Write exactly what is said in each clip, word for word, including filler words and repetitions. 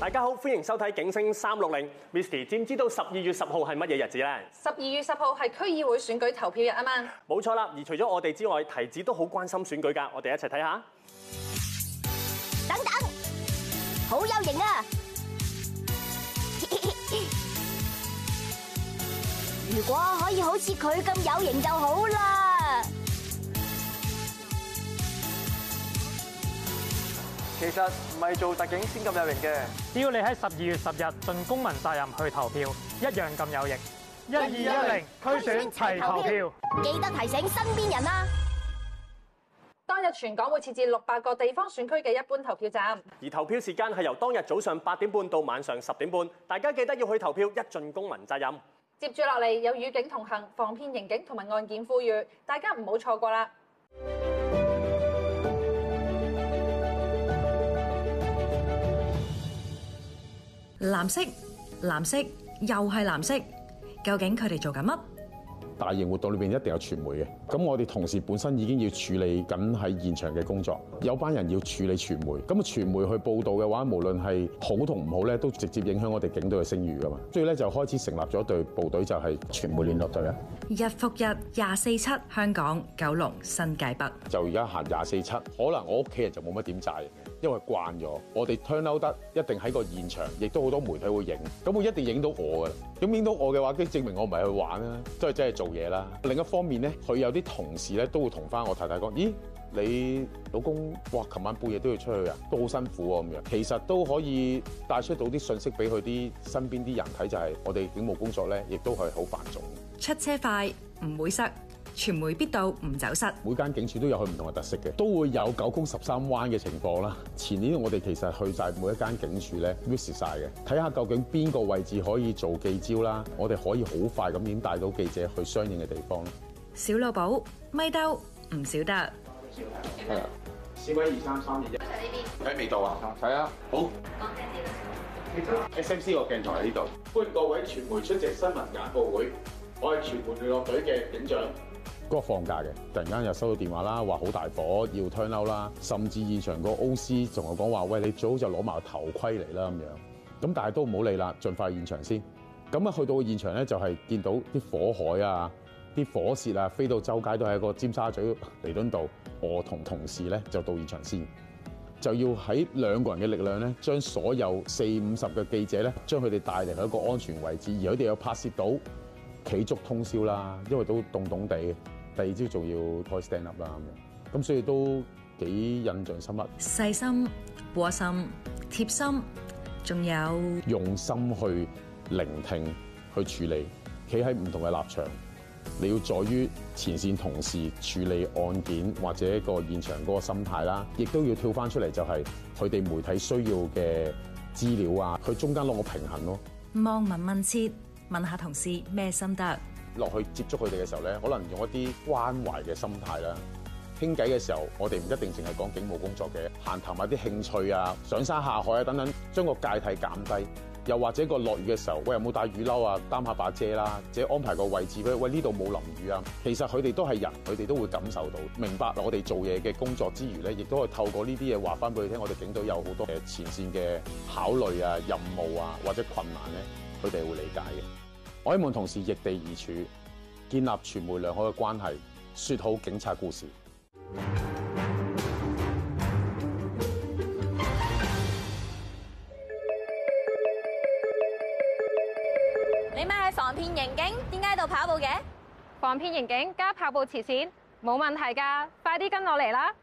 大家好，歡迎收睇《警聲三六零》。Misty 知唔知道十二月十號係乜嘢日子咧？ 十二月十號係區議會選舉投票日啊嘛。 冇錯啦，而除咗我哋之外，提子都好關心選舉㗎。我哋一齊睇下。 等等，好有型啊！如果可以好似佢咁有型就好啦。 其實唔係做特警先咁有型嘅， 只要你喺十二月十日盡公民責任去投票，一樣咁有型。一二一零區選齊投票， 記得提醒身邊人啊！ 當日全港會設置六百個地方選區嘅一般投票站， 而投票時間係由當日早上八點半到晚上十點半，大家記得要去投票，一盡公民責任。 接住落嚟有與警同行、防騙刑警同埋案件呼籲，大家唔好錯過啦！ 藍色，藍色，又係藍色，究竟佢哋做緊乜？ 大型活動裏邊一定有傳媒嘅，咁我哋同時本身已經要處理緊喺現場嘅工作，有班人要處理傳媒，咁啊傳媒去報導嘅話，無論係好同唔好咧，都直接影響我哋警隊嘅聲譽噶嘛，所以咧就開始成立咗一隊部隊，就係傳媒聯絡隊啊。 日復日廿四七，香港、九龍、新界北， 就而家行廿四七，可能我屋企人就冇乜點炸嘅，因為慣咗。我哋 turn out 得一定喺個現場，亦都好多媒體會影，咁會一定影到我噶啦。咁影到我嘅話，即係證明我唔係去玩啦，都係真係做嘢啦。另一方面咧，佢有啲同事咧都會同翻我太太講：咦，你老公哇，琴晚半夜都要出去啊，都好辛苦喎咁樣。其實都可以帶出到啲信息俾佢啲身邊啲人睇，就係我哋警務工作咧，亦都係好繁重。 出車快唔會塞，傳媒必到唔走失。 每間警署都有佢唔同嘅特色嘅，都會有九曲十三彎嘅情況啦。前年我哋其實去晒每一間警署咧 visit 晒嘅，睇下究竟邊個位置可以做記招啦，我哋可以好快咁點帶到記者去相應嘅地方。 小老寶咪兜唔少得。 係啊，市委二三三二一。喺未到啊？係啊，好。S M C 個鏡頭喺呢度，歡迎各位傳媒出席新聞簡報會。我係傳媒聯絡隊嘅警長。嗰個放假嘅，突然間又收到電話啦，話好大火要 turn out 啦，甚至現場個 O C 同我講話：喂，你最好就攞埋個頭盔嚟啦咁樣。咁但係都唔好理啦，盡快去現場先。咁啊去到現場咧，就係見到啲火海啊、啲火舌啊飛到周街都係一個尖沙咀彌敦道。我同同事咧就到現場先，就要喺兩個人嘅力量咧，將所有四五十嘅記者咧，將佢哋帶嚟一個安全位置，而佢哋又拍攝到企足通宵啦，因為都凍凍地。第二朝仲要開 stand up 啦咁樣，咁所以都幾印象深刻。 細心、窩心、貼心，仲有用心去聆聽、去處理，企喺唔同嘅立場。你要在於前線同事處理案件或者個現場嗰個心態啦，亦都要跳翻出嚟，就係佢哋媒體需要嘅資料啊，佢中間攞個平衡咯。 望聞問切，問下同事咩心得。 落去接觸佢哋嘅時候咧，可能用一啲關懷嘅心態啦。傾偈嘅時候，我哋唔一定淨係講警務工作嘅，閒談下啲興趣啊、上山下海啊等等，將個界體減低。又或者個落雨嘅時候，喂，有冇帶雨褸啊？擔下把遮啦，或者安排個位置俾佢，喂，呢度冇淋雨啊。其實佢哋都係人，佢哋都會感受到、明白我哋做嘢嘅工作之餘咧，亦都可以透過呢啲嘢話翻俾佢聽。我哋警隊有好多誒前線嘅考慮啊、任務啊或者困難咧，佢哋會理解嘅。我希望同事易地而處，建立傳媒良好嘅關係，説好警察故事。 你咪係防騙刑警，點解喺度跑步嘅？ 防騙刑警加跑步慈善，冇問題㗎，快啲跟我嚟啦！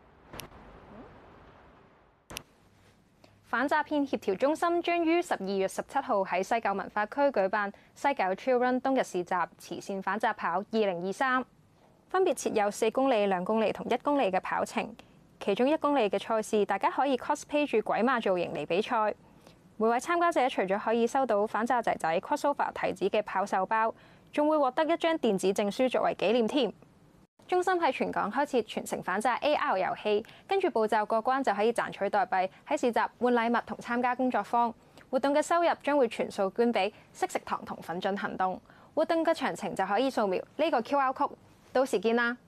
反詐騙協調中心將於十二月十七號喺西九文化區舉辦西九 Trail Run 冬日市集慈善反詐跑二零二三，分別設有四公里、兩公里同一公里嘅跑程。其中一公里嘅賽事，大家可以 cosplay 住鬼馬造型嚟比賽。每位參加者除咗可以收到反詐仔仔 crossover 提子嘅跑手包，仲會獲得一張電子證書作為紀念添。中心喺全港開設全城反詐 A R 遊戲，跟住步驟過關就可以賺取代幣，喺市集換禮物同參加工作坊。活動嘅收入將會全數捐俾惜食堂同奮進行動。活動嘅詳情就可以掃描呢個 Q R code， 到時見啦！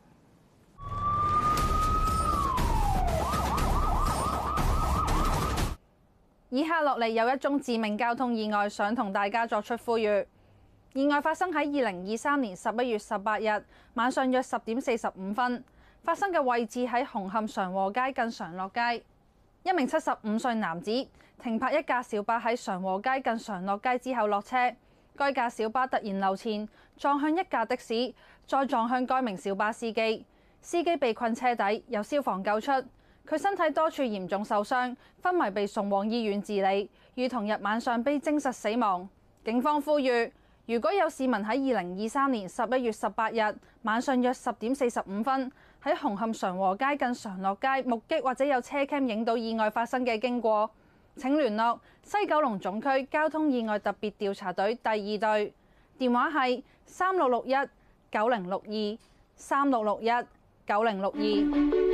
以下落嚟有一宗致命交通意外，想同大家作出呼籲。意外發生喺二零二三年十一月十八日晚上約十點四十五分，發生嘅位置喺紅磡常和街近常樂街。一名七十五歲男子停泊一架小巴喺常和街近常樂街之後落車，該架小巴突然溜前，撞向一架的士，再撞向該名小巴司機。司機被困車底，由消防救出。佢身體多處嚴重受傷，昏迷被送往醫院治理，於同日晚上被證實死亡。警方呼籲，如果有市民喺二零二三年十一月十八日晚上約十點四十五分喺紅磡常和街近常樂街目擊或者有車 cam 影到意外發生嘅經過，請聯絡西九龍總區交通意外特別調查隊第二隊，電話係三六六一九零六二三六六一九零六二。